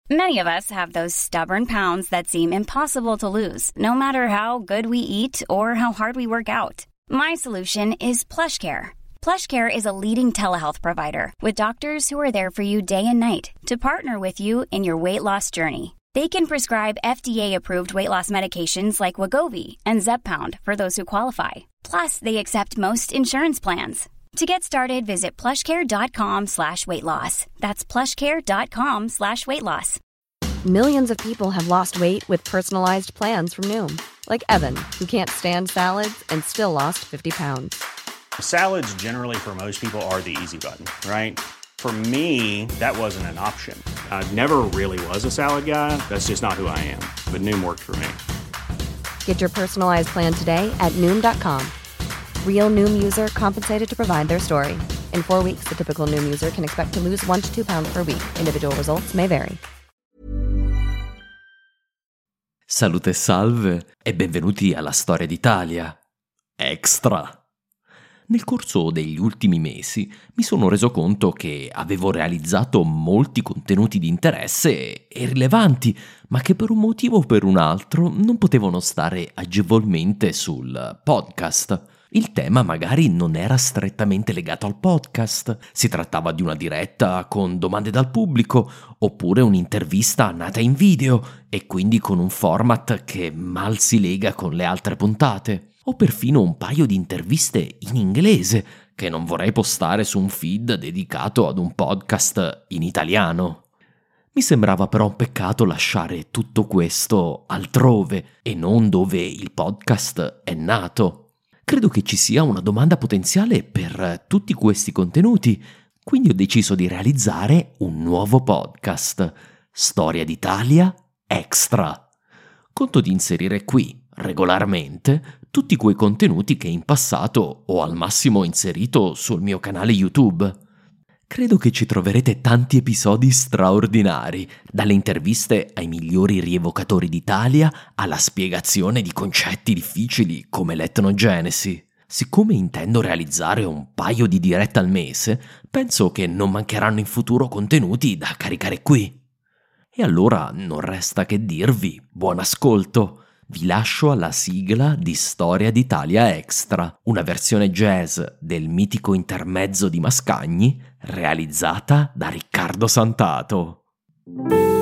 Many of us have those stubborn pounds that seem impossible to lose, no matter how good we eat or how hard we work out. My solution is PlushCare. PlushCare is a leading telehealth provider with doctors who are there for you day and night to partner with you in your weight loss journey. They can prescribe FDA-approved weight loss medications like Wegovy and Zepbound for those who qualify. Plus, they accept most insurance plans. To get started, visit plushcare.com/weightloss. That's plushcare.com/weightloss. Millions of people have lost weight with personalized plans from Noom. Like Evan, who can't stand salads and still lost 50 pounds. Salads generally for most people are the easy button, right? For me, that wasn't an option. I never really was a salad guy. That's just not who I am. But Noom worked for me. Get your personalized plan today at Noom.com. Real Noom user compensated to provide their story. In 4 weeks, the typical Noom user can expect to lose 1 to 2 pounds per week. Individual results may vary. Salute e salve e benvenuti alla Storia d'Italia. Extra! Nel corso degli ultimi mesi mi sono reso conto che avevo realizzato molti contenuti di interesse e rilevanti, ma che per un motivo o per un altro non potevano stare agevolmente sul podcast. Il tema magari non era strettamente legato al podcast, si trattava di una diretta con domande dal pubblico, oppure un'intervista nata in video e quindi con un format che mal si lega con le altre puntate. O perfino un paio di interviste in inglese che non vorrei postare su un feed dedicato ad un podcast in italiano. Mi sembrava però un peccato lasciare tutto questo altrove e non dove il podcast è nato. Credo che ci sia una domanda potenziale per tutti questi contenuti, quindi ho deciso di realizzare un nuovo podcast, Storia d'Italia Extra. Conto di inserire qui, regolarmente, tutti quei contenuti che in passato ho al massimo inserito sul mio canale YouTube. Credo che ci troverete tanti episodi straordinari, dalle interviste ai migliori rievocatori d'Italia alla spiegazione di concetti difficili come l'etnogenesi. Siccome intendo realizzare un paio di dirette al mese, penso che non mancheranno in futuro contenuti da caricare qui. E allora non resta che dirvi buon ascolto. Vi lascio alla sigla di Storia d'Italia Extra, una versione jazz del mitico intermezzo di Mascagni realizzata da Riccardo Santato.